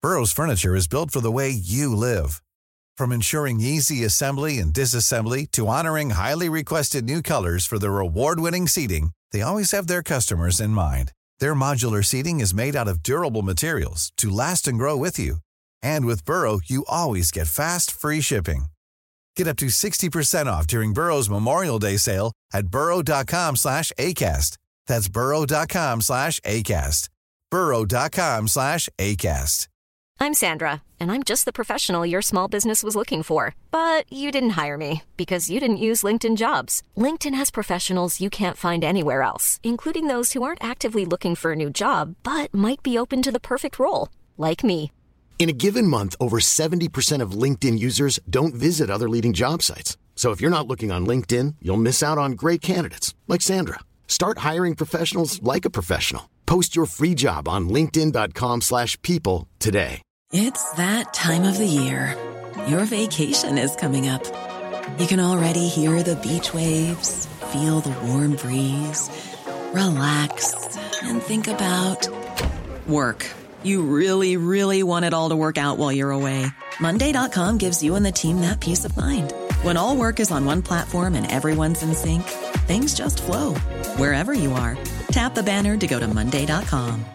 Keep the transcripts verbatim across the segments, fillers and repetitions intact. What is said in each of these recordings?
Burrow's furniture is built for the way you live. From ensuring easy assembly and disassembly to honoring highly requested new colors for their award-winning seating, they always have their customers in mind. Their modular seating is made out of durable materials to last and grow with you. And with Burrow, you always get fast, free shipping. Get up to sixty percent off during Burrow's Memorial Day sale at burrow.com slash ACAST. That's burrow.com slash ACAST. burrow.com slash ACAST. I'm Sandra, and I'm just the professional your small business was looking for. But you didn't hire me because you didn't use LinkedIn Jobs. LinkedIn has professionals you can't find anywhere else, including those who aren't actively looking for a new job, but might be open to the perfect role, like me. In a given month, over seventy percent of LinkedIn users don't visit other leading job sites. So if you're not looking on LinkedIn, you'll miss out on great candidates like Sandra. Start hiring professionals like a professional. Post your free job on linkedin.com slash people today. It's that time of the year. Your vacation is coming up. You can already hear the beach waves, feel the warm breeze, relax, and think about work. You really, really want it all to work out while you're away. Monday dot com gives you and the team that peace of mind. When all work is on one platform and everyone's in sync, things just flow. Wherever you are, tap the banner to go to monday dot com.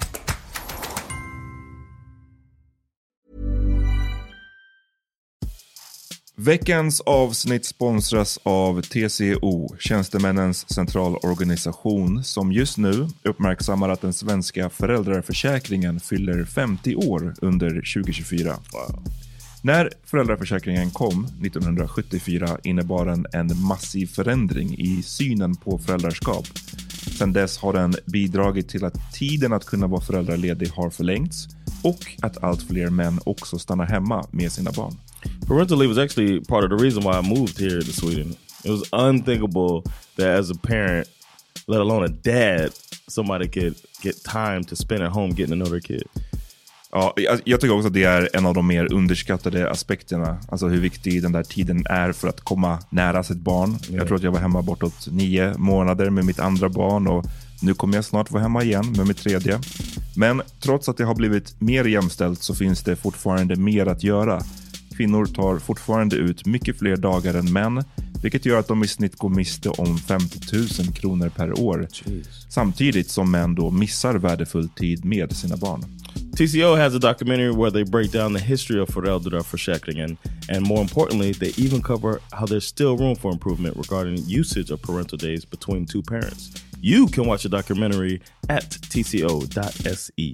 Veckans avsnitt sponsras av T C O, Tjänstemännens centralorganisation, som just nu uppmärksammar att den svenska föräldraförsäkringen fyller femtio år under tjugo tjugofyra. Wow. När föräldraförsäkringen kom nittonhundrasjuttiofyra innebar den en massiv förändring i synen på föräldraskap. Sedan dess har den bidragit till att tiden att kunna vara föräldraledig har förlängts och att allt fler män också stannar hemma med sina barn. Parental leave was actually part of the reason why I moved here to Sweden. It was unthinkable that as a parent, let alone a dad, somebody could get time to spend at home getting to know their kid. Ja, jag, jag tycker också att det är en av de mer underskattade aspekterna. Alltså hur viktig den där tiden är för att komma nära sitt barn. Yeah. Jag tror att jag var hemma bortåt nio månader med mitt andra barn och nu kommer jag snart vara hemma igen med mitt tredje. Men trots att det har blivit mer jämställt så finns det fortfarande mer att göra. Kvinnor tar fortfarande ut mycket fler dagar än män, vilket gör att de i snitt går miste om femtio tusen kronor per år. Jeez. Samtidigt som män då missar värdefull tid med sina barn. T C O has a documentary where they break down the history of föräldraförsäkringen, and more importantly, they even cover how there's still room for improvement regarding usage of parental days between two parents. You can watch the documentary at t c o dot s e.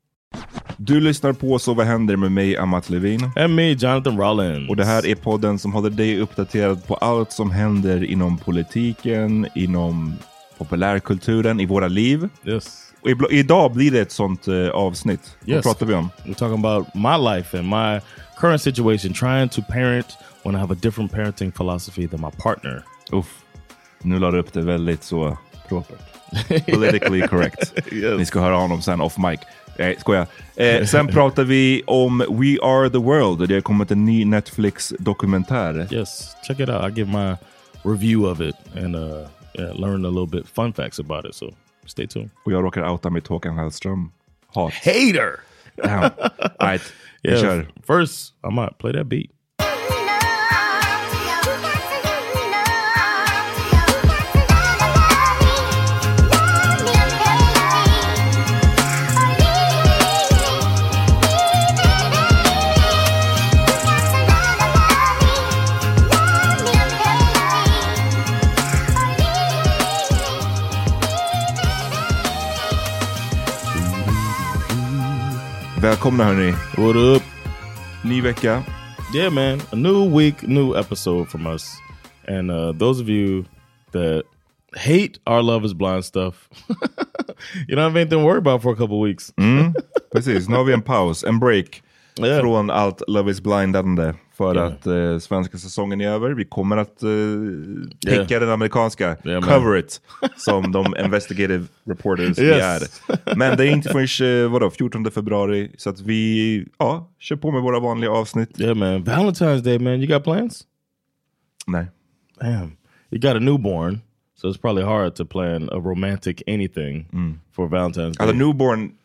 Du lyssnar på Så vad händer med mig, Amat Levin. And me, Jonathan Rollins. Och det här är podden som håller dig uppdaterad på allt som händer inom politiken, inom populärkulturen, i våra liv. Yes. Och i, idag blir det ett sånt uh, avsnitt. Yes. Vad pratar vi om? We're talking about my life and my current situation, trying to parent when I have a different parenting philosophy than my partner. Uff, nu la du upp det väldigt så propert. Politically correct. Yes. Ni ska höra honom sen off mic. Nej, skojar. Eh, sen pratar vi om We Are The World. Det har kommit en ny Netflix-dokumentär. Yes, check it out. I give my review of it and uh, yeah, learn a little bit fun facts about it. So stay tuned. Och jag råkar outa med Håkan Hellström. Hat. Hater! Damn. All right, yeah, kör. First, I might play that beat. Välkomna hörni. What up? Ny vecka. Yeah, man. A new week, new episode from us. And uh, those of you that hate our Love is Blind stuff, you don't have anything to worry about for a couple weeks. Mm, precis, nu har vi en paus, en break yeah. från allt Love is Blindande för yeah. att uh, svenska säsongen är över. Vi kommer att uh, täcka yeah. den amerikanska, yeah, cover it, som de investigative reporters vi yes. är. Men det är inte förrän uh, vadå, fjortonde februari, så att vi ja, kör på med våra vanliga avsnitt. Yeah, man. Valentine's Day, man. You got plans? Nej. Damn. You got a newborn, so it's probably hard to plan a romantic anything mm. for Valentine's Day. Alltså newborn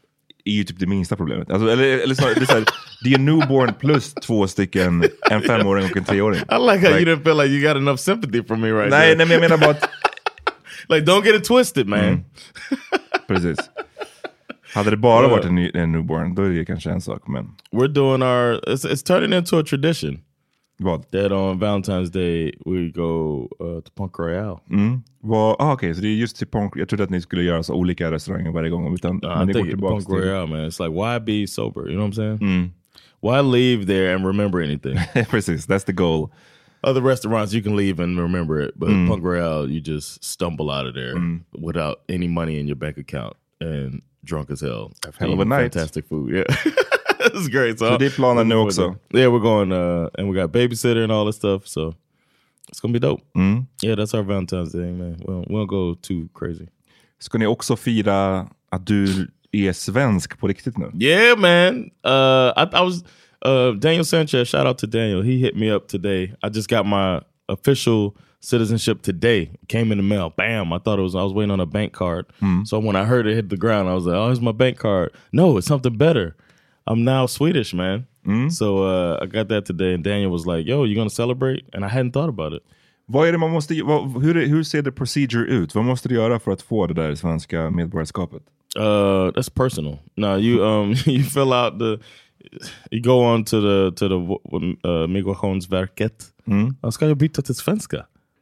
är ju typ det minsta problemet. Alltså, eller, eller så, det, är så här, det är newborn plus två stycken, en femåring och en treåring. I like how like, you didn't feel like you got enough sympathy from me right nej, now. nej, men jag menar bara att... like, don't get it twisted, man. Mm. Precis. Hade det bara varit en, ny, en newborn, då är det kanske en sak, men... We're doing our... It's, it's turning into a tradition. Vad? That on Valentine's Day we go uh, to Punk Royale. Mm. Ah, okej, okay, så det är just till Punk... Jag trodde att ni skulle göra så olika restauranger varje gång. Utan, no, men I det think går Punk till... Royale, man. It's like, why be sober? You know what I'm saying? Mm. Why leave there and remember anything? Precis, that's the goal. Other restaurants, you can leave and remember it. But mm. Punk Royale, you just stumble out of there mm. without any money in your bank account. And drunk as hell. Hell of a night. Fantastic food, yeah. It's great. So, so det är planen nu också. Yeah, we're going, uh, and we got babysitter and all this stuff. So it's gonna be dope. Mm. Yeah, that's our Valentine's Day, man. We won't, we won't go too crazy. Ska ni också fira att du är svensk på riktigt nu? Yeah, man. Uh, I, I was uh, Daniel Sanchez. Shout out to Daniel. He hit me up today. I just got my official citizenship today. Came in the mail. Bam. I thought it was, I was waiting on a bank card. Mm. So when I heard it hit the ground, I was like, oh, here's my bank card. No, it's something better. I'm now Swedish, man. Mm. So uh, I got that today, and Daniel was like, yo, you gonna celebrate? And I hadn't thought about it. Vad är det man måste, vad, hur, hur ser det procedure ut? Vad måste du göra för att få det där svenska medborgarskapet? Uh, that's personal. No, you um you fill out the, you go on to the to the uh, Migrationsverket. Mm. Jag ska ju byta till svenska.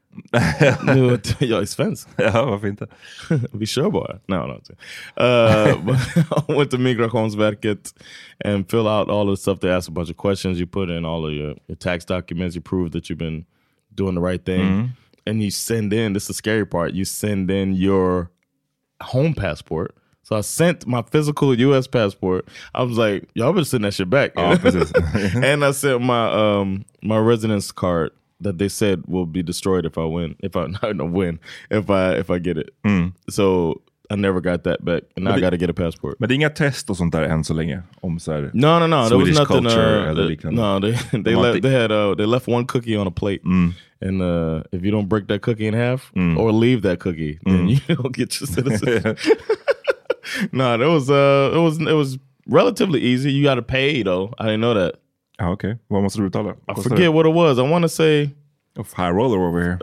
Nu, jag är svensk. Ja, varför inte? Vi kör bara. No, no. Uh, I went to Migrationsverket and fill out all the stuff. They ask a bunch of questions. You put in all of your, your tax documents. You prove that you've been doing the right thing. Mm. And you send in, this is the scary part, you send in your home passport. So I sent my physical U S passport. I was like, y'all better send that shit back. Oh, and I sent my um my residence card that they said will be destroyed if I win. If I not win, if I if I get it. Mm. So I never got that back, and now det, I got to get a passport. Men det är inga test och sånt där än så länge om så här. No, no, no. There was nothing. Culture, uh, the, no, they they left, they had uh, they left one cookie on a plate, mm. and uh, if you don't break that cookie in half mm. or leave that cookie, then mm. you don't get your citizenship. No, it was uh, it was it was relatively easy. You got to pay though. I didn't know that. Oh, okay. Vad måste du betala? I forget what it was. I want to say oh, high roller over here.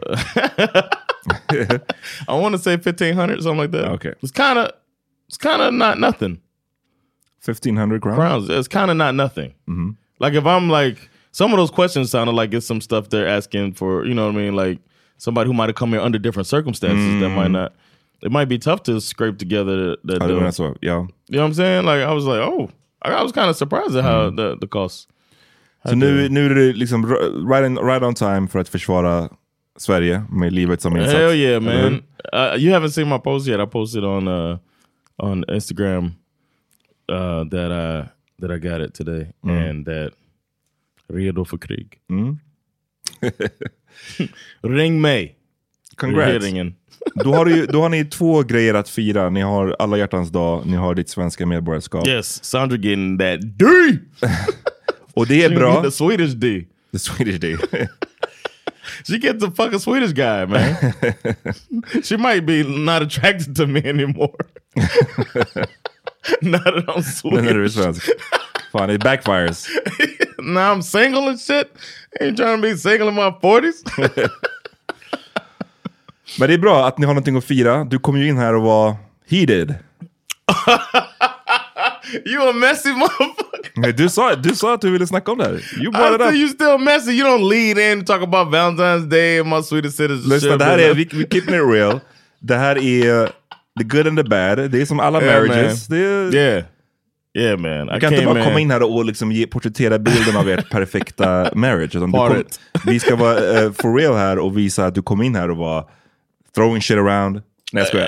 I want to say fifteen hundred, something like that. Okay, it's kind of it's kind of not nothing. Fifteen hundred crowns. Crowns. It's kind of not nothing. Mm-hmm. Like if I'm like some of those questions sounded like it's some stuff they're asking for. You know what I mean? Like somebody who might have come here under different circumstances mm. that might not. It might be tough to scrape together that. that that's what, yeah. You know what I'm saying? Like I was like, oh, I was kind of surprised at how mm. the the cost. Så nu, nu är det liksom right, in, right on time för att försvara Sverige med livet som insats. Hell yeah, man. Uh, you haven't seen my post yet. I posted on uh, on Instagram uh, that I that I got it today mm. and that redo för krig. Mm. Ring mig. Congrats. Då har, du, då har ni två grejer att fira. Ni har alla hjärtans dag, ni har ditt svenska medborgarskap. Yes, Sandra getting that D. Och det är She bra. The Swedish D. The Swedish D. She gets the fucking Swedish guy, man. She might be not attracted to me anymore. Not that I'm Swedish. När du är svensk. Fan, it backfires. Now I'm single and shit. Ain't trying to be single in my forties. Men det är bra att ni har någonting att fira. Du kom ju in här och var heated. You a messy motherfucker. Du sa, du sa att du ville snacka om det här. You brought I it up. You still messy. You don't lead in and talk about Valentine's Day and my Swedish citizenship. Lyssna, det här är, vi, vi keeping it real. Det här är the good and the bad. Det är som alla yeah, marriages. Det är, yeah. Yeah, man. Du kan inte bara komma in här och liksom ge, porträttera bilden av ert perfekta marriage. Utan du kom, vi ska vara uh, for real här och visa att du kom in här och var throwing shit around. Nej, jag skojar.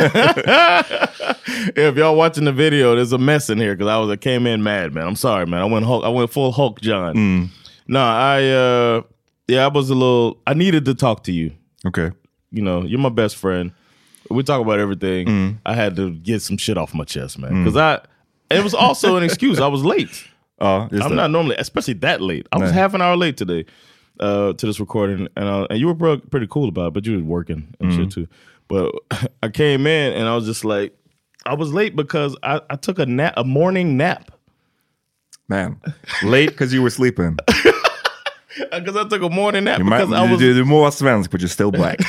If y'all watching the video, there's a mess in here because I was I came in mad, man. I'm sorry, man. I went Hulk, I went full Hulk John. Mm. No, I uh, yeah, I was a little. I needed to talk to you. Okay. You know, you're my best friend. We talk about everything. Mm. I had to get some shit off my chest, man, because mm. I. It was also an excuse. I was late. Uh, I'm that. not normally, especially that late. I was nah. half an hour late today uh, to this recording, and uh, and you were pretty cool about it, but you were working and mm. shit too. But I came in and I was just like, I was late because I, I took a nap, a morning nap. Man, late because you were sleeping. Because I took a morning nap. You because might, I was... du, du må vara svensk, but you're still black.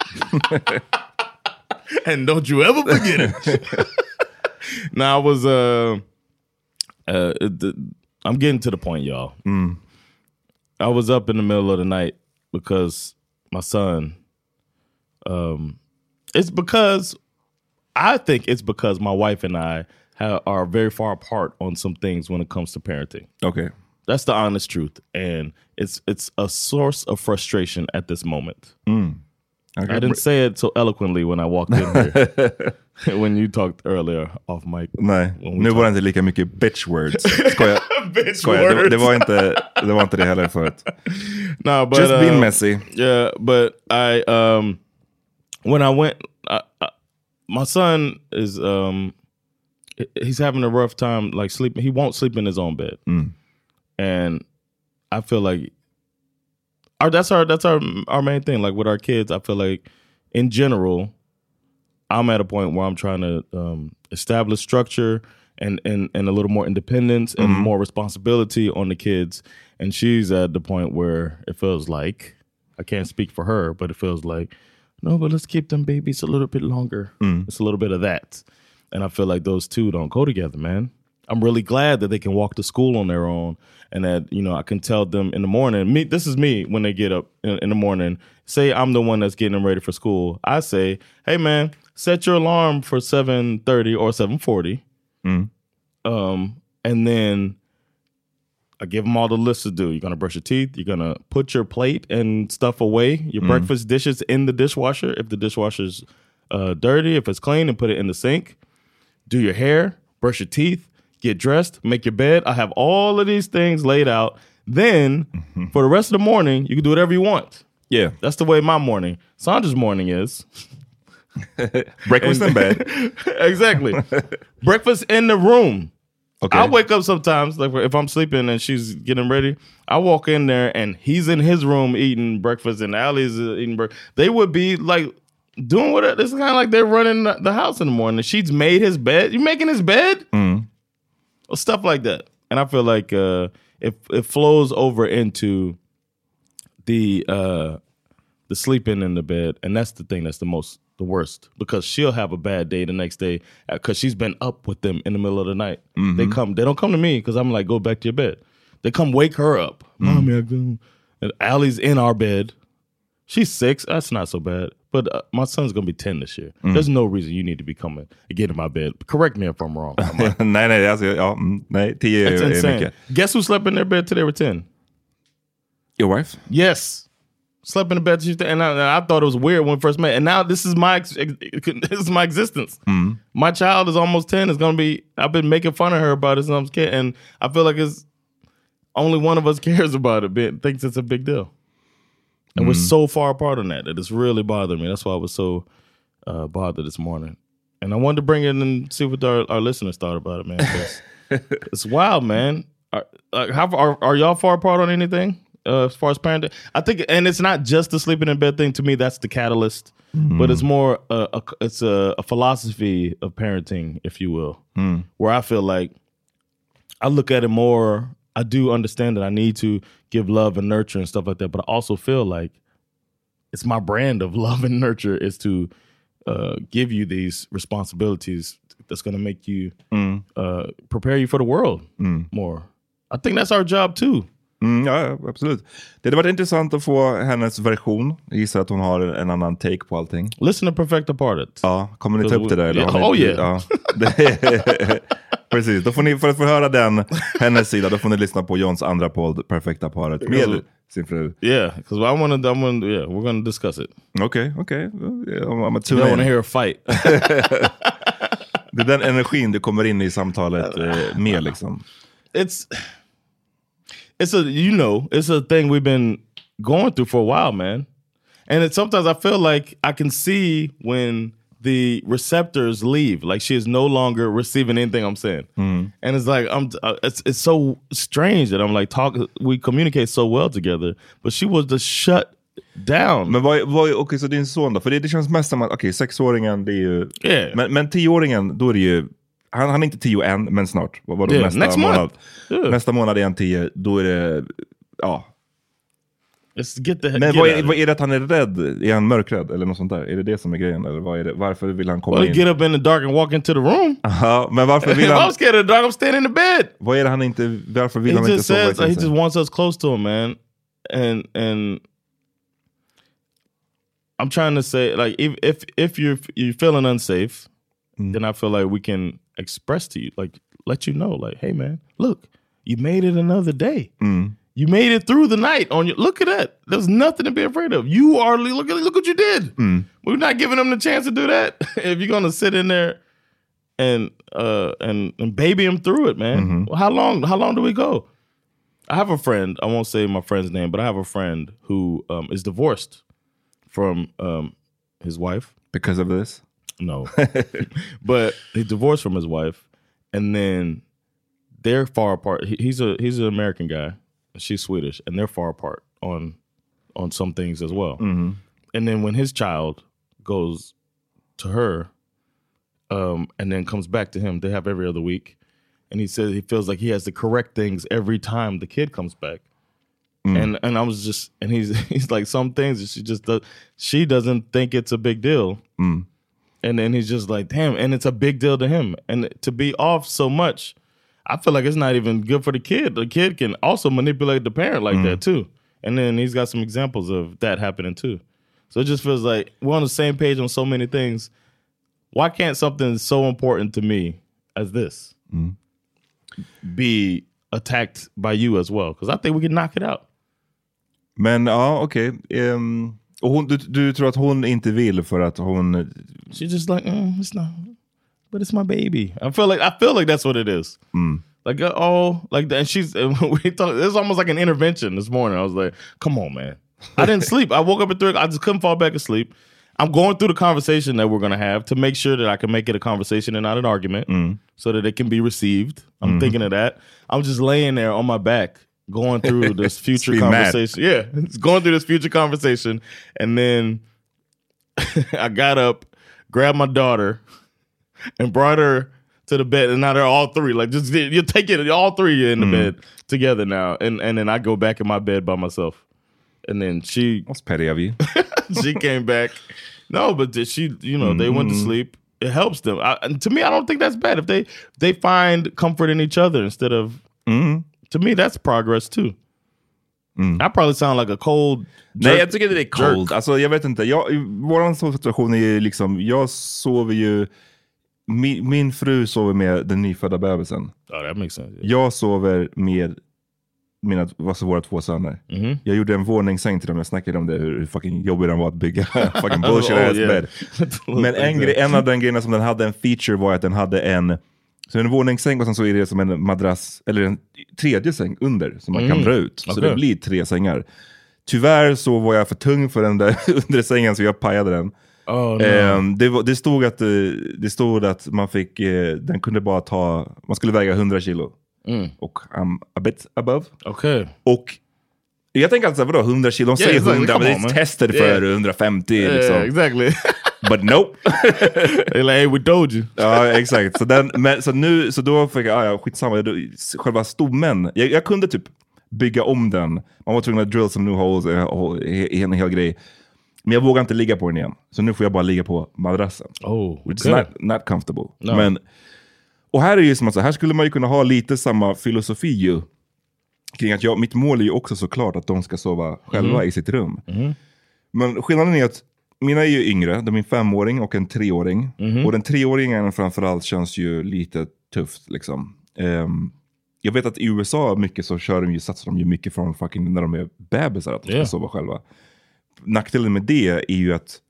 And don't you ever forget it. Now I was, uh, uh, the, I'm getting to the point, y'all. Mm. I was up in the middle of the night because my son, um, it's because, I think it's because my wife and I have, are very far apart on some things when it comes to parenting. Okay. That's the honest truth. And it's it's a source of frustration at this moment. Mm. Okay. I didn't say it so eloquently when I walked in here. When you talked earlier off mic. Nej, nu var det inte lika mycket bitch words. Skoja. Bitch Skoja. words. Det, det, var inte, det var inte det heller förut. No, but, Just uh, being messy. Yeah, but I, um, when I went, I, I, my son is, um, he's having a rough time, like sleeping. He won't sleep in his own bed. Mm. And I feel like our that's our that's our our main thing. Like with our kids, I feel like in general, I'm at a point where I'm trying to um, establish structure and, and and a little more independence and Mm-hmm. more responsibility on the kids. And she's at the point where it feels like, I can't speak for her, but it feels like, no, but let's keep them babies a little bit longer. Mm. It's a little bit of that. And I feel like those two don't go together, man. I'm really glad that they can walk to school on their own and that, you know, I can tell them in the morning, me, this is me when they get up in, in the morning, say I'm the one that's getting them ready for school. I say, hey man, set your alarm for seven thirty or seven forty. Mm. Um, and then I give them all the list to do. You're going to brush your teeth. You're going to put your plate and stuff away, your Mm. breakfast dishes in the dishwasher. If the dishwasher's uh, dirty, if it's clean, and put it in the sink. Do your hair, brush your teeth, get dressed, make your bed. I have all of these things laid out. Then mm-hmm. for the rest of the morning, you can do whatever you want. Yeah. That's the way my morning. Sandra's morning is. Breakfast in bed. Exactly. Breakfast in the room. Okay. I wake up sometimes, like if I'm sleeping and she's getting ready, I walk in there and he's in his room eating breakfast and Allie's eating breakfast. They would be like doing what it's kind of like they're running the house in the morning. She's made his bed. You making his bed? Mm. Well, stuff like that. And I feel like uh, it it flows over into the uh, the sleeping in the bed, and that's the thing that's the most the worst, because she'll have a bad day the next day because she's been up with them in the middle of the night. Mm-hmm. They come, they don't come to me because I'm like, go back to your bed. They come wake her up. Mm. Mommy, I go. And Allie's in our bed. She's six. That's not so bad. But uh, my son's going to be ten this year. Mm. There's no reason you need to be coming and get in my bed. Correct me if I'm wrong. nej, nej, alltså, ja, mm, nej, tio That's är insane. mycket. Guess who slept in their bed till they were ten? Your wife? Yes. Slept in the bed, and I, and I thought it was weird when we first met. And now this is my ex- this is my existence. Mm. My child is almost ten. It's gonna be. I've been making fun of her about it since I was a kid, and I feel like it's only one of us cares about it. But thinks it's a big deal, and mm. we're so far apart on that that it's really bothering me. That's why I was so uh, bothered this morning, and I wanted to bring it in and see what our, our listeners thought about it, man. It's wild, man. Are, uh, how are, are y'all far apart on anything? Uh, as far as parenting, I think, and it's not just the sleeping in bed thing. To me, that's the catalyst, mm. but it's more uh, a, it's a, a philosophy of parenting, if you will, mm. where I feel like I look at it more. I do understand that I need to give love and nurture and stuff like that, but I also feel like it's my brand of love and nurture is to uh, give you these responsibilities that's going to make you mm. uh, prepare you for the world mm. more. I think that's our job too. Mm, ja, absolut. Det hade varit intressant att få hennes version. Jag gissar att hon har en annan take på allting. Listen to Perfect Apart. Ja, kommer ni ta upp det där? Eller yeah. har ni, Oh yeah. Ja. Precis, då får ni, för att få höra den, hennes sida, då får ni lyssna på Johns andra podd, Perfect Apart, med sin fru. Yeah, because I want to, I want, yeah, we're going to discuss it. Okej, okay, okej. Okay. I'm, I'm a tune in. I want to hear a fight. Det är den energin du kommer in i samtalet eh, med liksom. It's... It's a, you know, it's a thing we've been going through for a while, man. And it, sometimes I feel like I can see when the receptors leave, like she is no longer receiving anything I'm saying. Mm. And it's like, I'm, uh, it's, it's so strange that I'm like, talk, we communicate so well together, but she was just shut. down. Men vad, vad, okej, okay, så din son då? För det, det känns mest som att, okej, okay, sexåringen, det är ju... Yeah. Men, men tioåringen, då är det ju... Han, han är inte tio än, men snart. Vad var det yeah. nästa Next månad? Yeah. Nästa månad är han tio, då är det... Ja. Let's get the, men get vad är, vad är det att han är rädd? Är han mörkrädd eller något sånt där? Är det det som är grejen? Eller vad är det? Varför vill han komma well, in? Get up in the dark and walk into the room. Aha, men varför vill han... I'm scared of the dark, I'm staying in the bed. Vad är det han inte... Varför vill he han just inte sova says, i He just wants us close to him, man. And... and I'm trying to say, like, if if, if you're you're feeling unsafe, mm. then I feel like we can express to you, like, let you know, like, hey, man, look, you made it another day. Mm. You made it through the night. On your look at that. There's nothing to be afraid of. You are look at look what you did. Mm. We're not giving them the chance to do that. If you're gonna sit in there and uh and and baby him through it, man. Mm-hmm. Well, how long? How long do we go? I have a friend. I won't say my friend's name, but I have a friend who um, is divorced from um, his wife because of this. No, but he divorced from his wife, and then they're far apart. He, he's a he's an American guy. She's Swedish, and they're far apart on on some things as well. Mm-hmm. And then when his child goes to her, um, and then comes back to him, they have every other week. And he says he feels like he has to correct things every time the kid comes back. Mm. And and I was just and he's he's like some things that she just does, she doesn't think it's a big deal. Mm. And then he's just like, damn, and it's a big deal to him. And to be off so much, I feel like it's not even good for the kid. The kid can also manipulate the parent like mm. that too. And then he's got some examples of that happening too. So it just feels like we're on the same page on so many things. Why can't something so important to me as this mm. be attacked by you as well? Because I think we can knock it out. Men ja, okej. Okay. Um, och hon, du, du tror att hon inte vill för att hon... She's just like, mm, it's not... But it's my baby. I feel like I feel like that's what it is. Mm. Like oh, like that. And she's we talk. It's almost like an intervention this morning. I was like, come on, man. I didn't sleep. I woke up at three. I just couldn't fall back asleep. I'm going through the conversation that we're gonna have to make sure that I can make it a conversation and not an argument, mm. so that it can be received. I'm mm. thinking of that. I'm just laying there on my back, going through this future conversation. Mad. Yeah, it's going through this future conversation, and then I got up, grabbed my daughter, and brought her to the bed, and now they're all three. Like, just you take it, all three are in the mm. bed together now, and and then I go back in my bed by myself, and then she. That's petty of you. She came back. No, but she, you know, mm. they went to sleep. It helps them. I, and to me, I don't think that's bad if they they find comfort in each other instead of. Mm. To me, that's progress too. Mm. I probably sound like a cold. Jerk, Nej, jag tycker det är cold. Alltså, jag vet inte. Jag, vår situation är ju liksom, jag sover ju. Min, min fru sover med den nyfödda bebisen. Oh, that makes sense. Yeah. Jag sover med mina, alltså våra två söner. Mm-hmm. Jag gjorde en våningssäng till dem. Jag snackade om det, hur fucking jobbigt den var att bygga. Fucking bullshit oh, ass yeah. bed. Men en, grej, en av den grejerna som den hade en feature var att den hade en, så en våningssäng och sen så är det som en madrass, eller en tredje säng under som man mm. kan dra ut. Så okay. Det blir tre sängar. Tyvärr så var jag för tung för den där under sängen så jag pajade den. Oh, no. um, det, det stod att det stod att man fick uh, den kunde bara ta, man skulle väga hundra kilo mm. och I'm a bit above. Okay. Och jag tänker alltså vadå hundra kilo, de yeah, säger hundra exactly. Men det är tested yeah. för hundrafemtio yeah, liksom. Exactly. But nope. They're like, hey, we told you. Ja, exakt. Så, den, men, så nu, så då fick jag, ah, ja, skitsamma. Då, själva stommen, jag, jag kunde typ bygga om den. Man var tvungen att drill some new holes i en hel grej. Men jag vågar inte ligga på den igen. Så nu får jag bara ligga på madrassen. Oh, It's not, not comfortable. No. Men, och här är ju som att så här skulle man ju kunna ha lite samma filosofi ju. Kring att jag, mitt mål är ju också såklart att de ska sova själva mm. i sitt rum. Mm. Men skillnaden är att mina är ju yngre. De är en femåring och en treåring. Mm. Och den treåringen framförallt känns ju lite tufft liksom. Um, jag vet att i U S A mycket så kör de ju, satsar de ju mycket från fucking när de är bebisar att de ska yeah. sova själva. Nackdelen med det är ju att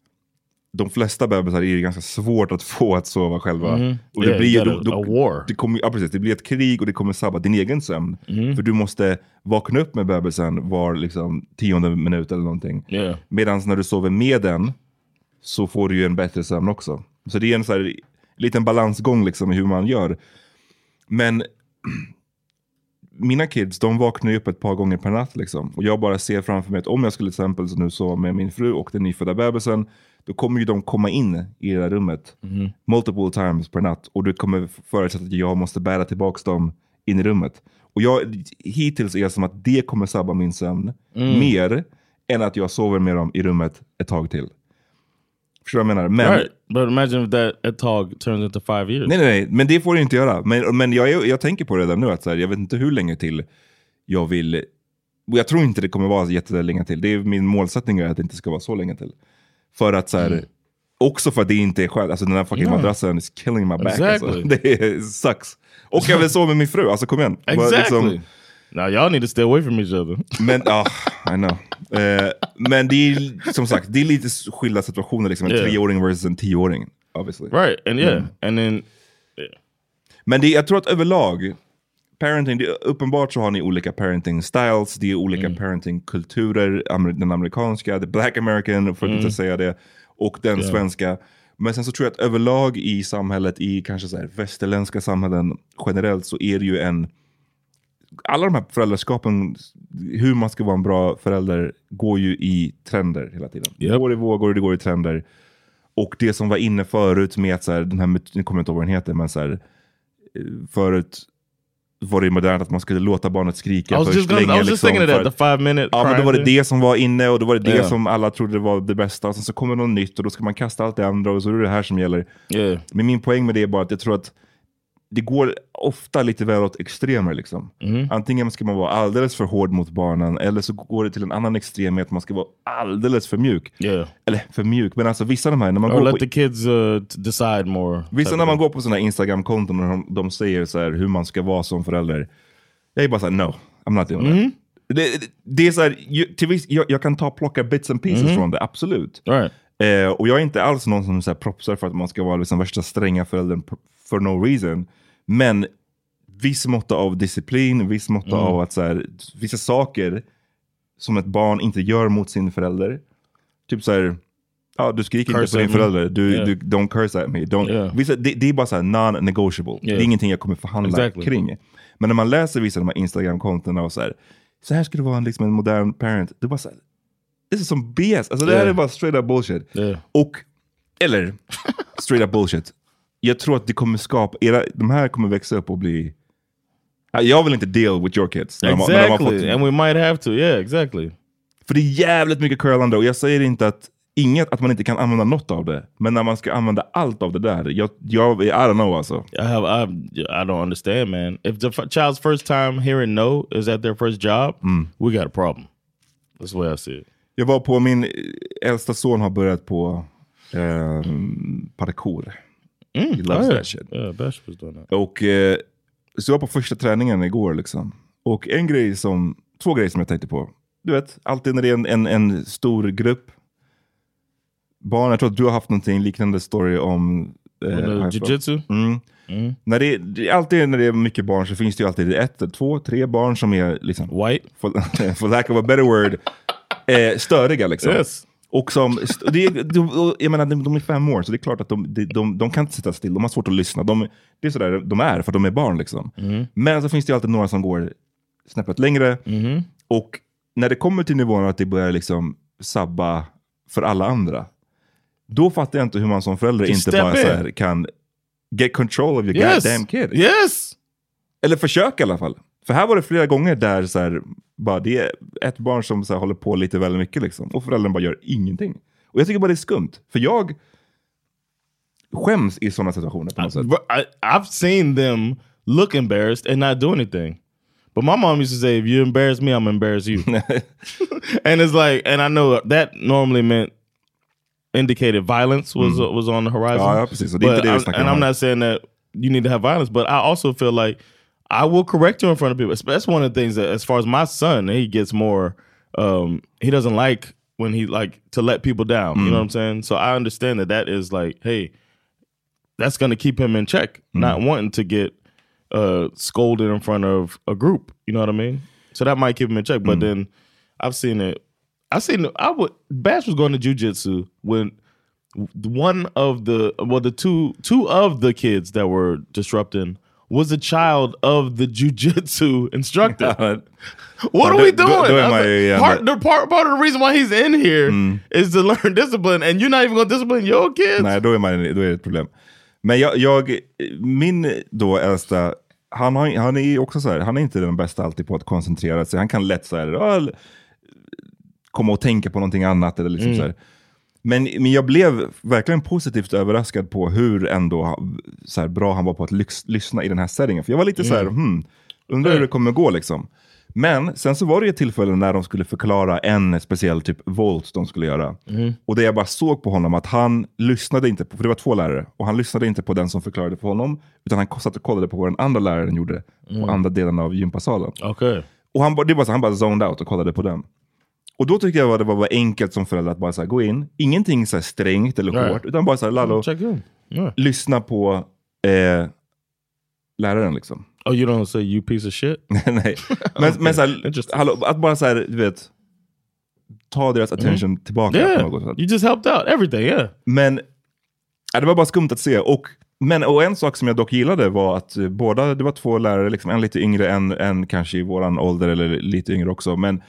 de flesta bebisar är ju ganska svårt att få att sova själva. Mm. Och det yeah, blir då, då, a war. Det, kommer, ja, precis, det blir ett krig och det kommer sabba din egen sömn. Mm. För du måste vakna upp med bebisen var liksom tionde minut eller någonting. Yeah. Medan när du sover med den så får du ju en bättre sömn också. Så det är en så här liten balansgång liksom i hur man gör. Men mina kids, de vaknar ju upp ett par gånger per natt liksom. Och jag bara ser framför mig att om jag skulle till exempel nu så med min fru och den nyfödda bebisen, då kommer ju de komma in i det där rummet mm. multiple times per natt. Och du kommer förutsätta att jag måste bära tillbaka dem in i rummet. Och jag, hittills är det som att det kommer sabba min sömn mm. mer än att jag sover med dem i rummet ett tag till. Förstår du vad jag menar? Men, right. But imagine if that ett tag turns into five years. Nej, nej, nej. Men det får du inte göra. Men, men jag, jag tänker på det där nu. Att så här, jag vet inte hur länge till jag vill... Och jag tror inte det kommer vara jättelänge till. Det är min målsättning är att det inte ska vara så länge till. För att så här... Mm. Också för att det inte är skönt. Alltså den här fucking yeah. madrassen is killing my back. Exactly. Alltså. Det är, sucks. Och jag vill sova med min fru. Alltså kom igen. Exactly. Liksom, now y'all need to stay away from each other. Men, ja, oh, I know. Uh, men det är som sagt, det är lite skilda situationer liksom. En yeah. treåring versus en tioåring, obviously. Right, and yeah, mm. and then... Yeah. Men det, jag tror att överlag, parenting, det, uppenbart så har ni olika parenting styles, det är olika mm. parenting kulturer, amer, den amerikanska, the black American, för att mm. inte säga det, och den yeah. svenska. Men sen så tror jag att överlag i samhället, i kanske så här västerländska samhällen generellt, så är det ju en... Alla de här föräldraskapen, hur man ska vara en bra förälder, går ju i trender hela tiden. Yep. Det går i vågor, det går i trender. Och det som var inne förut med att så här, den här, jag kommer inte ihåg vad den heter, men så här, förut var det modernt att man skulle låta barnet skrika först länge. I was just thinking of that, the five minute ja, men då var det det som var inne och då var det det yeah. som alla trodde det var det bästa. Och sen så kommer något nytt och då ska man kasta allt det andra och så är det det här som gäller. Yeah. Men min poäng med det är bara att jag tror att det går ofta lite väl åt extremer liksom. Mm. Antingen ska man vara alldeles för hård mot barnen eller så går det till en annan extrem att man ska vara alldeles för mjuk. Yeah. Eller för mjuk, men alltså vissa av de här när man Or går let på, the kids uh, decide more. Vissa när man går på såna här Instagram-konton och de, de säger så här hur man ska vara som förälder. Jag är bara så här, no, I'm not doing mm. that. Det, det, det är så här, ju, till viss, jag, jag kan ta plocka bits and pieces mm. från det, absolut. Right. Eh, och jag är inte alls någon som så här propsar för att man ska vara liksom värsta stränga föräldern for no reason. Men viss mått av disciplin, viss mått mm. av att så här, vissa saker som ett barn inte gör mot sin förälder. Typ så här, ja, du skriker curse inte på din förälder. Du, yeah. du, don't curse at me. Don't, yeah. vissa, det, det är bara så här non-negotiable. Yeah. Det är ingenting jag kommer förhandla exactly. kring. Men när man läser vissa av de här Instagram-kontona och så här, så här ska det vara liksom en modern parent. Du bara så här, det är som B S. Alltså det här yeah. är bara straight up bullshit. Yeah. Och, eller, straight up bullshit. Jag tror att det kommer skapa, era, de här kommer växa upp och bli... Jag vill inte deal with your kids. Exactly, när de, när de fått, and we might have to, yeah, exactly. För det är jävligt mycket curlande och jag säger inte att inget, att man inte kan använda något av det. Men när man ska använda allt av det där, jag, jag I don't know alltså. I, have, I, I don't understand, man. If the child's first time hearing no is at their first job, mm. we got a problem. That's the way I see it. Jag var på, min äldsta son har börjat på eh, parkour. Mm. He loves oh, yeah. that shit. Yeah, Bash was doing that. Och eh, så jag var på första träningen igår liksom. Och en grej som, två grejer som jag tänkte på. Du vet, alltid när det är en, en, en stor grupp barn, jag tror att du har haft någonting liknande story om eh, jiu-jitsu. Mm. Mm. När det, det, alltid när det är mycket barn så finns det ju alltid ett, två, tre barn som är liksom white, for, for lack of a better word, eh, störiga liksom. Yes. Och som, det, de, jag menar, de är fem år så det är klart att de, de, de, de kan inte sitta still, de har svårt att lyssna. De, det är sådär de är för att de är barn liksom. Mm. Men så finns det ju alltid några som går snäppet längre. Mm. Och när det kommer till nivån att det börjar liksom sabba för alla andra, då fattar jag inte hur man som förälder Just inte bara så här kan get control of your yes. goddamn kid. Yes! Eller försök i alla fall. För här var det flera gånger där så här, bara det är ett barn som så här, håller på lite väldigt mycket liksom. Och föräldern bara gör ingenting. Och jag tycker bara det är skumt. För jag skäms i sådana situationer på något sätt. I, I've seen them look embarrassed and not do anything. But my mom used to say, if you embarrass me, I'm embarrass you. And it's like, and I know that normally meant indicated violence was mm. uh, was on the horizon. Ja, precis. Och det är inte det vi snackar om. And I'm not saying that you need to have violence, but I also feel like I will correct you in front of people. That's one of the things that, as far as my son, he gets more, um, he doesn't like when he like to let people down. Mm. You know what I'm saying? So I understand that that is like, hey, that's going to keep him in check, mm. not wanting to get uh, scolded in front of a group. You know what I mean? So that might keep him in check. But mm. then I've seen it. I seen it. I would. Bash was going to jiu-jitsu when one of the well, the two two of the kids that were disrupting. was a child of the jujitsu instructor. What are we doing? Då, då är man ju like, part, the part, part of the reason why he's in here mm. is to learn discipline, and you're not even going to discipline your kids? Nej, då är, man, då är det ett problem. Men jag, jag min då äldsta, han, har, han är också så här, han är inte den bästa alltid på att koncentrera sig. Han kan lätt så här, komma och tänka på någonting annat eller liksom mm. så här. Men, men jag blev verkligen positivt överraskad på hur ändå så här, bra han var på att lyx, lyssna i den här settingen. För jag var lite mm. så här, hmm, undrar hur det kommer gå liksom. Men sen så var det ett tillfälle när de skulle förklara en speciell typ volt de skulle göra. Mm. Och det jag bara såg på honom att han lyssnade inte på, för det var två lärare. Och han lyssnade inte på den som förklarade för honom. Utan han satt och kollade på vad den andra läraren gjorde mm. på andra delen av gympasalen. Okay. Och han, det var så, han bara zoned out och kollade på den. Och då tyckte jag att det var bara enkelt som förälder att bara så här, gå in. Ingenting så här strängt eller hårt. Right. Utan bara så här, Lalo, yeah. lyssna på eh, läraren liksom. Oh, you don't say you piece of shit? Nej. Men, men så här, hallå, att bara så här, du vet, ta deras attention mm. tillbaka. Yeah. På något sätt. You just helped out everything, yeah. Men ja, det var bara skumt att se. Och, men, och en sak som jag dock gillade var att båda, det var två lärare, liksom, en lite yngre, en, en kanske i våran ålder eller lite yngre också. Men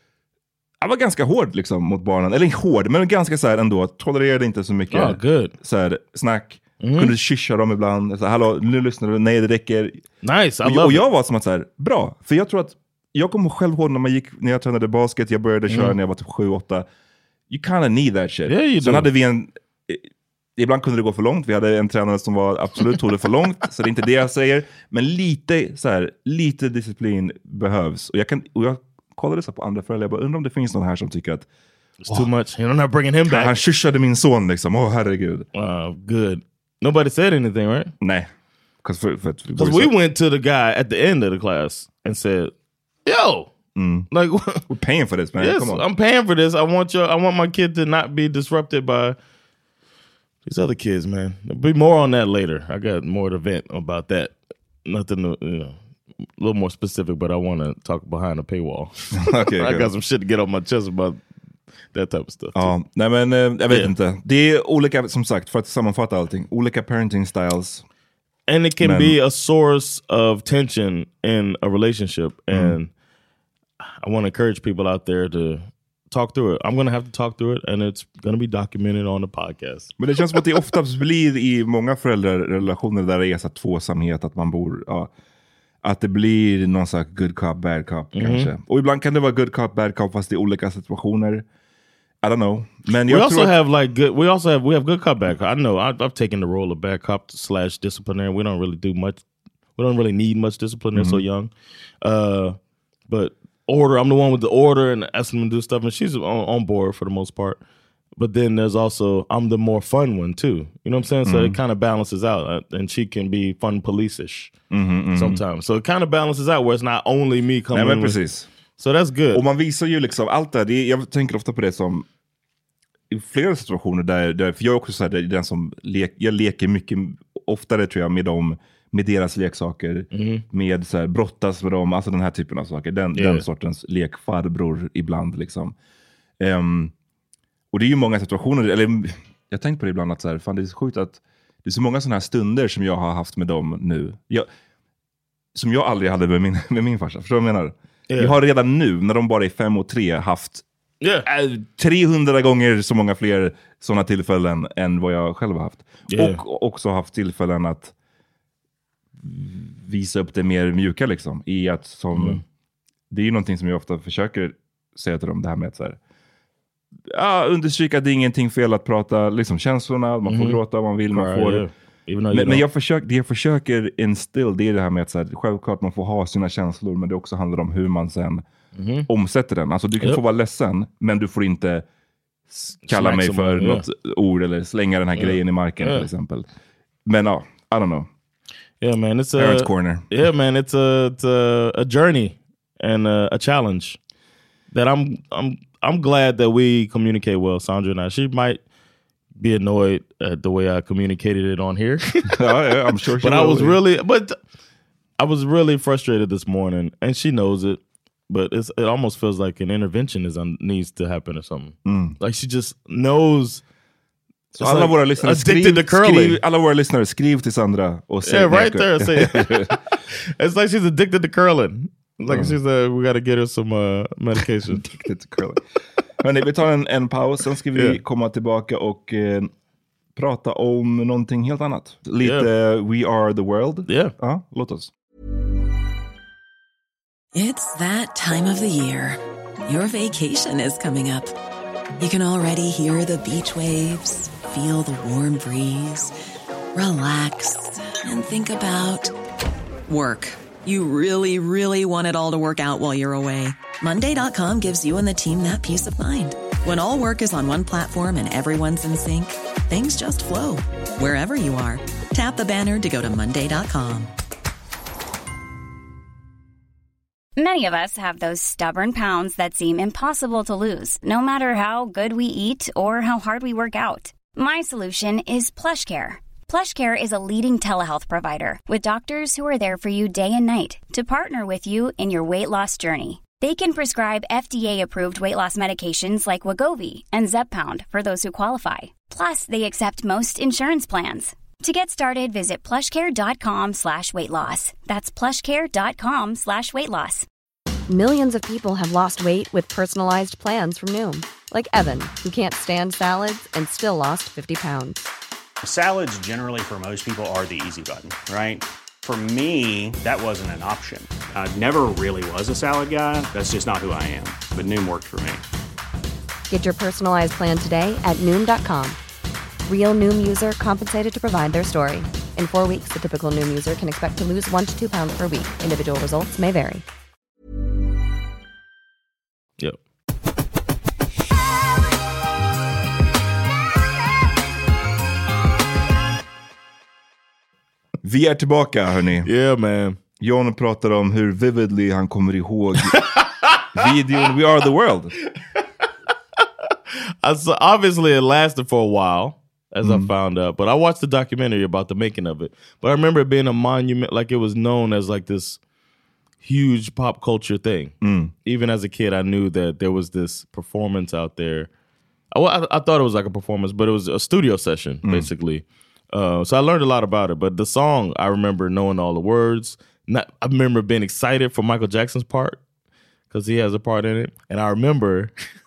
jag var ganska hård liksom mot barnen. Eller hård, men ganska så här ändå. Tolererade inte så mycket oh, good. Så här, snack. Mm. Kunde kyscha dem ibland. Så här, hallå, nu lyssnar du. Nej, det räcker. Nice, I och, love och jag it. var som att så här, bra. För jag tror att, jag kommer själv ihåg när man gick, när jag tränade basket. Jag började köra mm. när jag var typ sju åtta. You kind of need that shit. Yeah, Sen do. hade vi en, ibland kunde det gå för långt. Vi hade en tränare som var absolut tog det för långt. Så det är inte det jag säger. Men lite så här, lite disciplin behövs. Och jag kan, och jag kollade så på andra föräldrar. Jag bara undrar om det finns någon här som tycker att it's too much. You're not bringing him back. Han kyssade min son liksom. Åh, oh, herregud. Uh, good. Nobody said anything, right? Nej. Because we went to the guy at the end of the class and said, yo, mm. like we're paying for this, man. Yes, Come on. I'm paying for this. I want your, I want my kid to not be disrupted by these other kids, man. There'll be more on that later. I got more to vent about that. Nothing, to, you know, a little more specific, but I want to talk behind the paywall. Okay, I got some shit to get off my chest about that type of stuff. Ja, nej men jag vet yeah. inte. Det är olika, som sagt, för att sammanfatta allting. Olika parenting styles. And it can men, be a source of tension in a relationship. Mm. And I want to encourage people out there to talk through it. I'm going to have to talk through it, and it's going to be documented on the podcast. Men det känns som att det oftast blir i många föräldrarrelationer där det är så tvåsamhet, att man bor... Ja, att det blir någon slags good cop, bad cop mm-hmm. kanske. Och ibland kan det vara good cop, bad cop fast i olika situationer. I don't know. Men we jag also tror have like good. We also have we have good cop, bad cop. I know I've, I've taken the role of bad cop slash disciplinary. We don't really do much. We don't really need much discipline. They're mm-hmm. so young. Uh, but order. I'm the one with the order and asking them to do stuff, and she's on, on board for the most part. But then there's also I'm the more fun one too. You know what I'm saying? So mm-hmm. it kind of balances out, uh, and she can be fun police-ish mm-hmm, mm-hmm. sometimes. So it kind of balances out where it's not only me coming. Nej, men with, precis. So that's good. Och man visar ju liksom allt det, det. Jag tänker ofta på det som i flera situationer där, där för jag är också så här, det är den som lek, jag leker mycket oftare tror jag med dem, med deras leksaker, mm. med så här, brottas med dem, alltså den här typen av saker, den, yeah. den sortens lekfarbror ibland liksom. Um, och det är ju många situationer, eller jag tänkte på det ibland att så här, fan det är så sjukt att det är så många sådana här stunder som jag har haft med dem nu. Jag, som jag aldrig hade med min, med min farsa, förstår du vad jag menar? Yeah. Jag har redan nu, när de bara är fem och tre, haft yeah. äh, trehundra gånger så många fler sådana tillfällen än vad jag själv har haft. Yeah. Och också haft tillfällen att visa upp det mer mjuka liksom. I att som, mm. det är ju någonting som jag ofta försöker säga till dem, det här med att så här, ja, understryka att det är ingenting fel att prata liksom känslorna, man får mm. gråta om man vill, man får... Yeah. Men, men jag försöker, det jag försöker instill, det är det här med att så här, självklart man får ha sina känslor, men det också handlar om hur man sen mm. omsätter den. Alltså du kan yep. få vara ledsen, men du får inte kalla Smack mig för något yeah. ord eller slänga den här yeah. grejen i marken yeah. till exempel. Men ja, I don't know. Yeah man, it's Parents a corner. Yeah man, it's a it's a, a journey and a, a challenge that I'm I'm I'm glad that we communicate well, Sandra and I. She might be annoyed at the way I communicated it on here. oh, yeah, I'm sure she But will. I was really but I was really frustrated this morning, and she knows it, but it's it almost feels like an intervention is on, needs to happen or something. Mm. Like she just knows Så alla, like våra lyssnare skriv, skriv, alla våra lyssnare skriv till Sandra och säg yeah, right there. Say it's like she's addicted to curling. Like mm. she's uh, we got to get her some uh, medication. Addicted to curling. Hörrni, vi tar en, en paus, sen ska vi yeah. komma tillbaka och eh, prata om någonting helt annat. Lite yeah. We Are The World. Yeah. Ja, låt oss. It's that time of the year. Your vacation is coming up. You can already hear the beach waves, feel the warm breeze, relax, and think about work. You really, really want it all to work out while you're away. Monday dot com gives you and the team that peace of mind. When all work is on one platform and everyone's in sync, things just flow. Wherever you are, tap the banner to go to Monday dot com. Many of us have those stubborn pounds that seem impossible to lose, no matter how good we eat or how hard we work out. My solution is PlushCare. PlushCare is a leading telehealth provider with doctors who are there for you day and night to partner with you in your weight loss journey. They can prescribe F D A-approved weight loss medications like Wegovy and Zepbound for those who qualify. Plus, they accept most insurance plans. To get started, visit plushcare.com slash weight loss. That's plushcare.com slash weight loss. Millions of people have lost weight with personalized plans from Noom. Like Evan, who can't stand salads and still lost fifty pounds. Salads generally for most people are the easy button, right? For me, that wasn't an option. I never really was a salad guy. That's just not who I am. But Noom worked for me. Get your personalized plan today at Noom dot com. Real Noom user compensated to provide their story. In four weeks, the typical Noom user can expect to lose one to two pounds per week. Individual results may vary. Yep. Vi är tillbaka, hörni. Yeah, man. John pratar om hur vividly han kommer ihåg videon We Are The World. So obviously it lasted for a while, as mm. I found out. But I watched the documentary about the making of it. But I remember it being a monument, like it was known as like this huge pop culture thing. Mm. Even as a kid, I knew that there was this performance out there. I, I, I thought it was like a performance, but it was a studio session, mm. basically. Uh, so I learned a lot about it. But the song, I remember knowing all the words. Not, I remember being excited for Michael Jackson's part, because he has a part in it. And I remember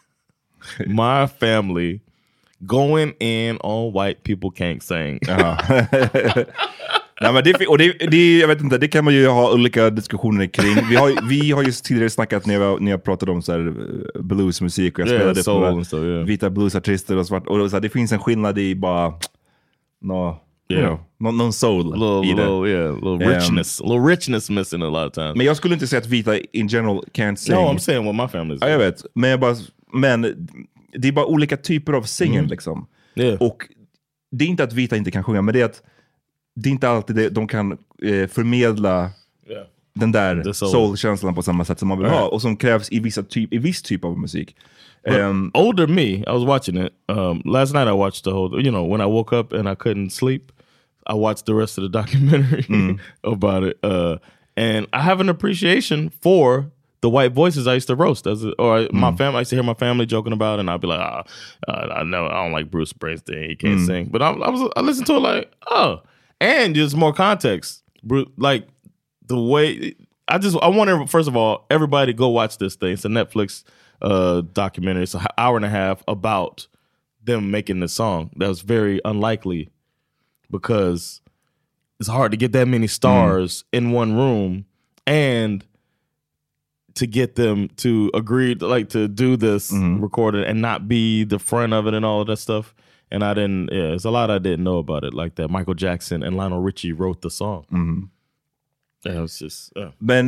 my family going in on White People Can't Sing. Uh-huh. Nej, men det, och det, det, jag vet inte, det kan man ju ha olika diskussioner kring. Vi har, vi har ju tidigare snackat när jag, när jag pratade om så här bluesmusik och jag yeah, spelade soul på so, yeah. vita bluesartister och svart. Och så här, det finns en skillnad i bara no, yeah. you know, någon, någon soul a little, i det. Little, yeah, a little richness. Um, a little richness missing a lot of times. Men jag skulle inte säga att vita in general can't sing. No, I'm saying what my family's ja, jag vet. Men, jag bara, men det är bara olika typer av singen mm. liksom. Yeah. Och det är inte att vita inte kan sjunga, men det är att det är inte alltid det, de kan eh, förmedla yeah. den där soul. soul-känslan på samma sätt som man vill right. ha. Och som krävs i, vissa typ, i viss typ av musik. Um, older me, I was watching it. Um, last night I watched the whole, you know, when I woke up and I couldn't sleep, I watched the rest of the documentary mm. about it. Uh, and I have an appreciation for the white voices I used to roast. As a, or mm. my family, I used to hear my family joking about it, and I'd be like, ah, uh, I know I don't like Bruce Springsteen, he can't mm. sing. But I, I was, I listened to it like, oh. And there's more context. Like the way I just I want to first of all everybody go watch this thing. It's a Netflix uh, documentary. It's an hour and a half about them making this song. That was very unlikely because it's hard to get that many stars mm. in one room and to get them to agree to, like to do this mm. recording and not be the front of it and all of that stuff. And I didn't, yeah, there's a lot I didn't know about it, like that Michael Jackson and Lionel Richie wrote the song. Mm. Yeah, it was just, yeah. Men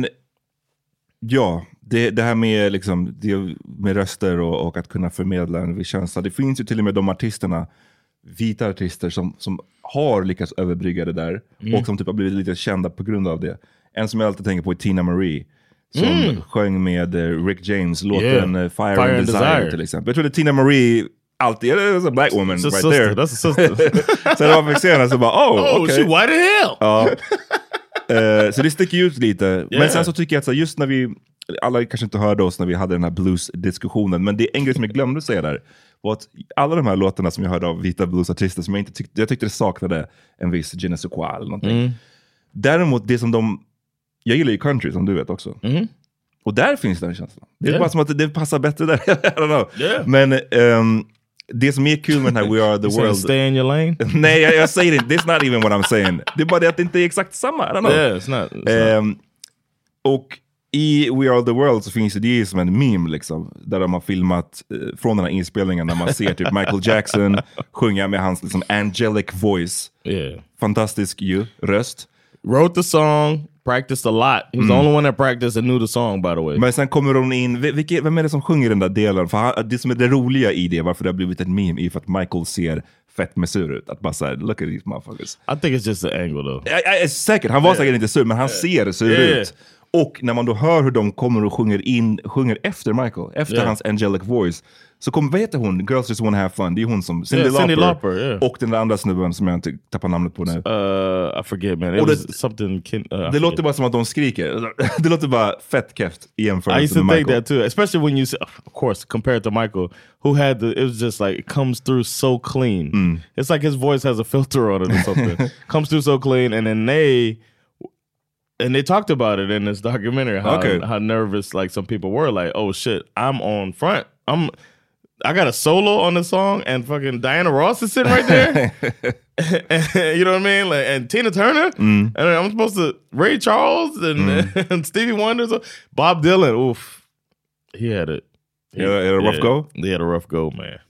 ja, det, det här med, liksom, det med röster och, och att kunna förmedla en viss känsla. Det finns ju till och med de artisterna, vita artister som, som har lyckats överbrygga det där mm. och som typ har blivit lite kända på grund av det. En som jag alltid tänker på är Tina Marie. Som mm. sjöng med Rick James låten yeah. Fire, Fire and, and Desire, Desire till exempel. Jag tror det är Tina Marie alltid, it was a black woman it's right sister. there. That's a sister. Så när man fick se henne så bara, oh, oh okay. she white as hell. Ja. uh, så det sticker ut lite. Yeah. Men sen så tycker jag att så just när vi, alla kanske inte hörde oss när vi hade den här blues-diskussionen, men det är en grej som jag glömde säga där, var att alla de här låtarna som jag hörde av vita bluesartister som jag inte tyckte, jag tyckte det saknade en viss je ne sais quoi eller någonting. Mm. Däremot det som de, jag gillar ju country som du vet också. Mm. Och där finns den känslan. Det är yeah. bara som att det passar bättre där. I don't know. Yeah. Men um, det som är kul med den här We Are The World... Stay in your lane? Nej, jag, jag säger inte. That's not even what I'm saying. Det är bara det att det inte är exakt samma. I don't know. Yeah, it's not, it's um, not. Och i We Are The World så finns det, det som en meme liksom. Där de har filmat uh, från den här inspelningen när man ser typ Michael Jackson sjunga med hans liksom angelic voice. Yeah. Fantastisk ju, röst. Wrote the song, practiced a lot. He was mm. the only one that practiced and knew the song, by the way. Men sen kommer hon in, vilka, vem är det som sjunger den där delen? För han, det som är det roliga i det, varför det har blivit ett meme, är för att Michael ser fett med sur ut. Att bara såhär, look at these motherfuckers. I think it's just the angle though. Jag, jag är säkert, han var yeah. säkert inte sur, men han yeah. ser sur yeah. ut. Och när man då hör hur de kommer och sjunger in, sjunger efter Michael, efter yeah. hans angelic voice, så kommer, vad heter hon? Girls Just Wanna Have Fun. Det är hon som, Cyndi yeah, Lauper. Lauper yeah. Och den där andra snubben som jag inte tappar namnet på nu. Uh, I forget man. It was det, something kin, uh, det låter bara som att de skriker. Det låter bara fett keft i jämförelse I used to med think Michael. that too. Especially when you, of course, compared to Michael, who had the, it was just like, it comes through so clean. Mm. It's like his voice has a filter on it or something. Comes through so clean, and then they... And they talked about it in this documentary, how, okay. how nervous like some people were, like, oh shit, I'm on front. I'm I got a solo on the song and fucking Diana Ross is sitting right there. You know what I mean? Like, and Tina Turner. Mm. And I'm supposed to Ray Charles and, mm. and Stevie Wonder. So Bob Dylan. Oof. He had it. He had, had a rough yeah, go? They had a rough go, man.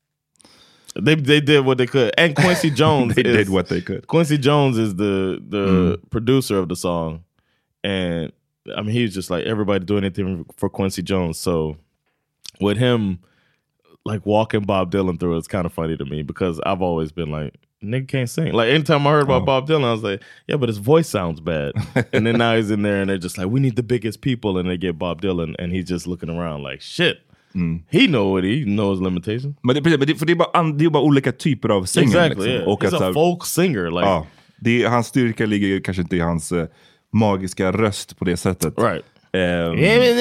They they did what they could. And Quincy Jones they is, did what they could. Quincy Jones is the the mm. producer of the song. And I mean, he was just like, everybody do anything for Quincy Jones. So with him, like walking Bob Dylan through, it's kind of funny to me because I've always been like, nigga can't sing. Like anytime I heard about oh. Bob Dylan, I was like, yeah, but his voice sounds bad. And then now he's in there and they're just like, we need the biggest people. And they get Bob Dylan and he's just looking around like, shit. Mm. He know what he knows limitations. Men det, men det, för det är bara, det är bara olika typer av sånger. Exactly, liksom. yeah. Och he's att, a folk singer. Like, ja, det, hans styrka ligger kanske inte i hans uh, magiska röst på det sättet. Right. Um,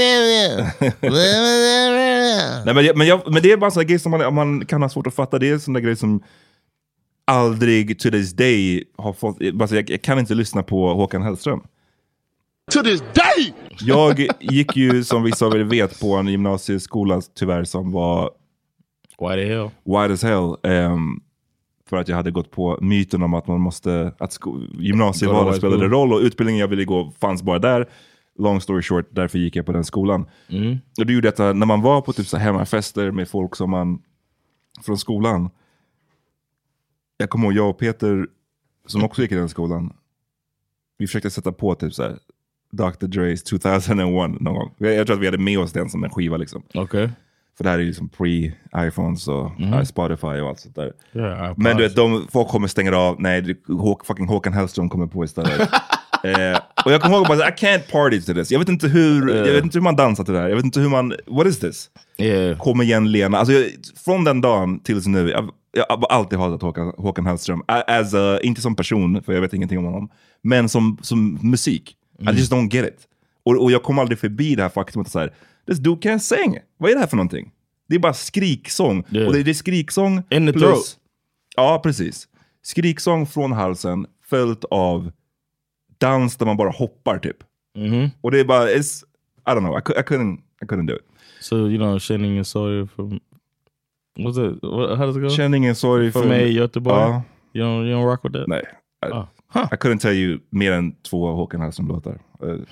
Nej, men, men, jag, men det är bara en sån grej som man, man kan ha svårt att fatta. Det är en sån där grej som aldrig to this day har fått, alltså jag, jag kan inte lyssna på Håkan Hellström. To this day! Jag gick ju, som vissa av er vet, på en gymnasieskola tyvärr som var white as hell, white as hell um, för att jag hade gått på myten om att man måste, att sko- gymnasievalet spelade roll och utbildningen jag ville gå fanns bara där. Long story short, därför gick jag på den skolan. Mm. Och det gjorde detta när man var på typ så hemmafester med folk som man från skolan. Jag kommer ihåg, jag och Peter som också gick i den skolan, vi försökte sätta på typ så här doktor Dre's two thousand one någon gång. Jag, jag tror att vi hade med oss den som en skiva liksom. Okej. Okay. För det här är ju liksom pre-iPhones och mm. Spotify och allt sånt där. Yeah, men du vet, de, folk kommer stänga av. Nej, det, Håk, fucking Håkan Hellström kommer på istället. eh, och jag kommer ihåg bara, I can't party to this. Jag vet inte hur, uh. jag vet inte hur man dansar till det här. Jag vet inte hur man, what is this? Yeah. Kom igen Lena. Alltså, jag, från den dagen tills nu, jag, jag har alltid hatat Håkan, Håkan Hellström. As a, inte som person, för jag vet ingenting om honom. Men som, som musik. Mm. I just don't get it. Och, och jag kom aldrig förbi det här faktumet så här, this dude can't sing. Vad är det här för någonting? Det är bara skriksång. Yeah. Och det är, det är skriksång in the plus, throat. Ja, precis. Skriksång från halsen följt av dans där man bara hoppar typ. Mm-hmm. Och det är bara, it's, I don't know, I, I, couldn't, I couldn't do it. So, you know, känning en sorg from, what's it, what, how does it go? Känning en sorg för mig i Göteborg. Uh, you, don't, you don't rock with that? Nej. I, oh. huh. I couldn't tell you mer än två Håkan Hellström-låtar. Uh, huh.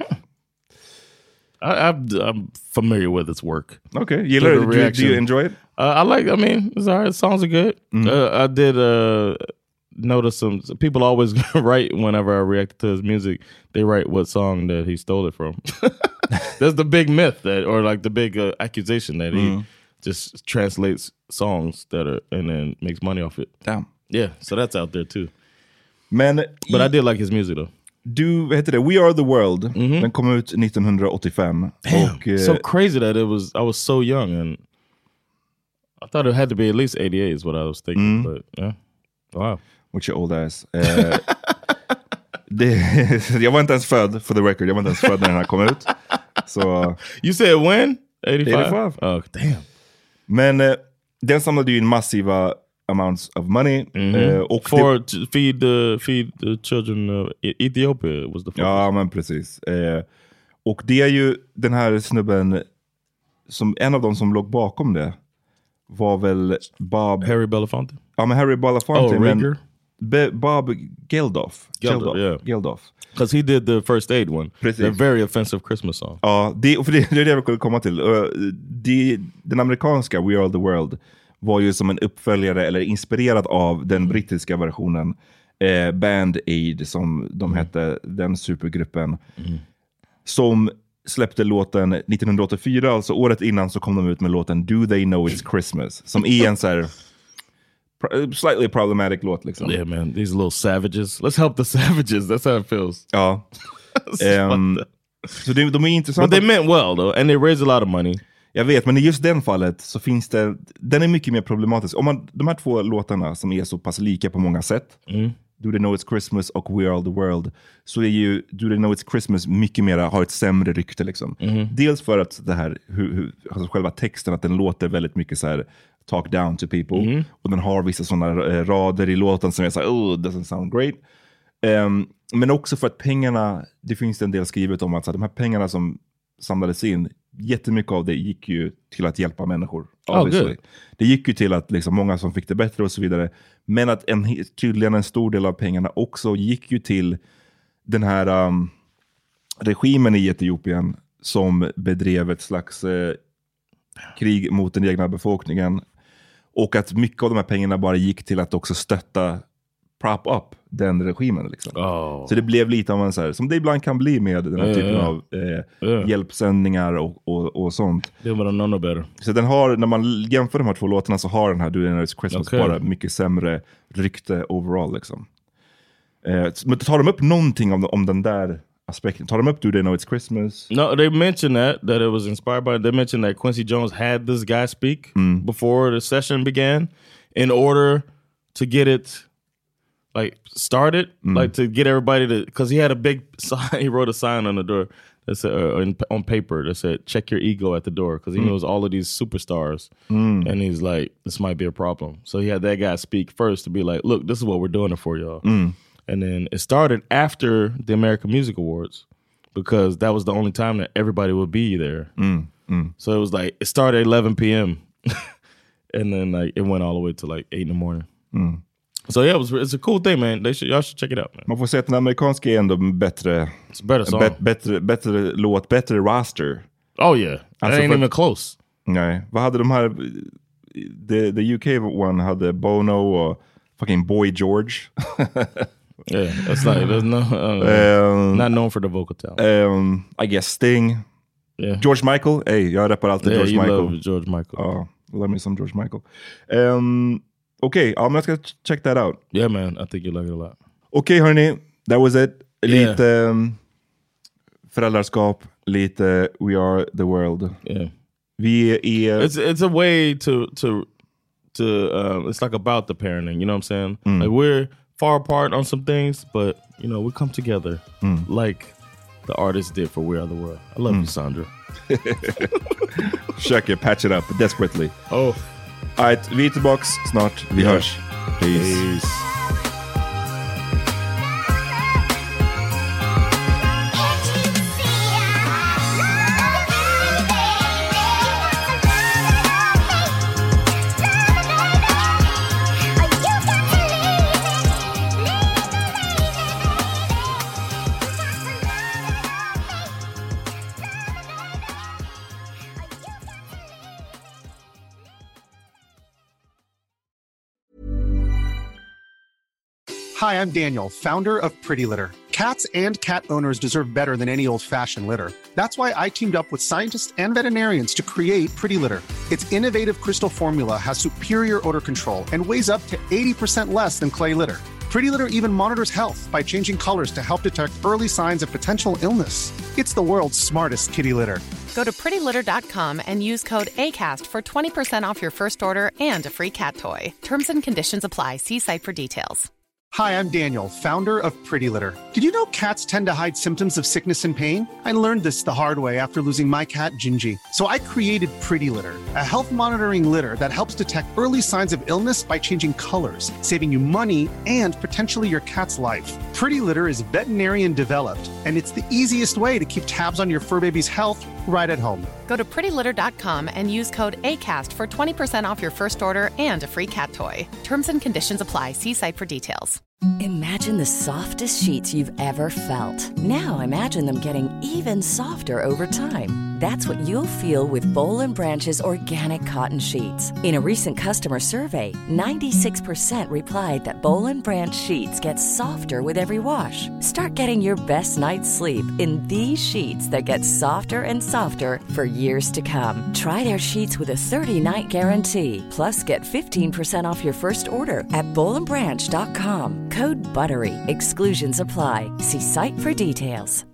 I, I'm, I'm familiar with its work. Okay, you learned, do, do you enjoy it? Uh, I like. I mean, it's alright. Songs are good. Mm-hmm. Uh, I did uh, notice some people always write whenever I react to his music. They write what song that he stole it from. That's the big myth that, or like the big uh, accusation that mm-hmm. he just translates songs that are and then makes money off it. Damn. Yeah, so that's out there too. Men, but I did like his music though. Du, vad heter det? We Are The World. Mm-hmm. Den kom ut nittonhundraåttiofem. Damn, och, uh, so crazy that it was, I was so young and I thought it had to be at least eighty-eight is what I was thinking. Mm. But yeah, wow. What's your old ass? Uh, det, jag var inte ens född, for the record. Jag var inte ens född när den här kom ut. Så, you said when? eighty-five? eighty-five. Oh, damn. Men eh, den samlade ju in massiva amounts of money. Mm-hmm. eh, och For det, to feed the feed the children of Ethiopia was the focus. Ja, men precis. Eh, och det är ju den här snubben, som en av dem som låg bakom det var väl Bob... Harry Belafonte? Ja, men Harry Belafonte. Oh, men Be, Bob Geldof. Geldof, yeah. Geldof. Because he did the First Aid one. Precis. The very offensive Christmas song. Ja, det, för det, det är det jag vill komma till. Uh, det, den amerikanska We Are The World var ju som en uppföljare eller inspirerad av den brittiska versionen eh, Band Aid, som de Mm. hette, den supergruppen. Mm. Som släppte låten nittonhundraåttiofyra, alltså året innan så kom de ut med låten Do They Know It's Christmas, som är en så här pro- slightly problematic låt liksom. Yeah, man, these little savages. Let's help the savages. That's how it feels. Ja. um, så det, de är intressanta. But they meant well though, and they raised a lot of money. Jag vet, men i just den fallet så finns det, den är mycket mer problematisk. Om man, de här två låtarna som är så pass lika på många sätt, Mm. Do They Know It's Christmas och We Are The World, så är ju Do They Know It's Christmas mycket mer, har ett sämre rykte liksom. Mm. Dels för att det här, hur, hur, alltså själva texten, att den låter väldigt mycket så här talk down to people. Mm. Och den har vissa sådana eh, rader i låten som är så här, oh, doesn't sound great. Um, men också för att pengarna, det finns en del skrivet om att så här, de här pengarna som samlades in, jättemycket av det gick ju till att hjälpa människor. Oh, good. Det gick ju till att liksom, många som fick det bättre och så vidare. Men att en, tydligen en stor del av pengarna också gick ju till den här um, regimen i Etiopien som bedrev ett slags eh, krig mot den egna befolkningen. Och att mycket av de här pengarna bara gick till att också stötta, prop up den regimen liksom. Oh. Så det blev lite av en så här, som det ibland kan bli med den här Yeah, typen yeah. av eh, Yeah. hjälpsändningar och, och, och sånt. They would have known no better. Så den har, när man jämför de här två låtarna, så har den här Do They Know It's Christmas Okay. bara mycket sämre rykte overall liksom. Eh, men tar de upp någonting om, om den där aspekten? Tar de upp Do They Know It's Christmas? No, they mentioned that, that it was inspired by, they mentioned that Quincy Jones had this guy speak Mm. before the session began in order to get it like started, Mm. like to get everybody to, because he had a big sign, he wrote a sign on the door that said, uh, in, on paper that said, check your ego at the door, because he Mm. knows all of these superstars. Mm. And he's like, this might be a problem. So he had that guy speak first to be like, look, this is what we're doing it for y'all. Mm. And then it started after the American Music Awards, because that was the only time that everybody would be there. Mm. Mm. So it was like, it started at eleven p.m. and then like it went all the way to like eight in the morning. Mm. So yeah, it was, it's a cool thing, man. They should, y'all should check it out, man. Man får säga att den amerikanska är ändå bättre, It's a better song. bet, bättre, bättre låt, bättre roster. Oh yeah, that Alltså ain't för- even close. Nej, vad hade de här, the, the U K one hade Bono och fucking Boy George. Yeah, it's like there's no uh, um, not known for the vocal talent. um, I guess Sting. Yeah, George Michael, hey, jag rappar alltid yeah, George you Michael. love George Michael. Ja, love me some George Michael. Um, Okej, okay, ja, men jag ska ch- check that out. Yeah, man, I think you like it a lot. Okej, okay, hörni, that was it. Yeah. Lite um, föräldraskap, lite We Are The World. Yeah, Vi är... it's it's a way to to to um, it's like about the parenting. You know what I'm saying? Mm. Like we're far apart on some things, but you know we come together Mm. like the artist did for We Are The World. I love you, Sandra. Försöker patch it up desperately. Oh, Alright, vi är tillbaks snart. Vi Yeah. hörs. Peace. peace. Hi, I'm Daniel, founder of Pretty Litter. Cats and cat owners deserve better than any old-fashioned litter. That's why I teamed up with scientists and veterinarians to create Pretty Litter. Its innovative crystal formula has superior odor control and weighs up to eighty percent less than clay litter. Pretty Litter even monitors health by changing colors to help detect early signs of potential illness. It's the world's smartest kitty litter. Go to pretty litter dot com and use code ACAST for twenty percent off your first order and a free cat toy. Terms and conditions apply. See site for details. Hi, I'm Daniel, founder of Pretty Litter. Did you know cats tend to hide symptoms of sickness and pain? I learned this the hard way after losing my cat, Gingy. So I created Pretty Litter, a health monitoring litter that helps detect early signs of illness by changing colors, saving you money and potentially your cat's life. Pretty Litter is veterinarian developed, and it's the easiest way to keep tabs on your fur baby's health right at home. Go to pretty litter dot com and use code ACAST for twenty percent off your first order and a free cat toy. Terms and conditions apply. See site for details. Imagine the softest sheets you've ever felt. Now imagine them getting even softer over time. That's what you'll feel with Boll and Branch's organic cotton sheets. In a recent customer survey, ninety-six percent replied that Boll and Branch sheets get softer with every wash. Start getting your best night's sleep in these sheets that get softer and softer for years to come. Try their sheets with a thirty-night guarantee. Plus, get fifteen percent off your first order at boll and branch dot com. Code BUTTERY. Exclusions apply. See site for details.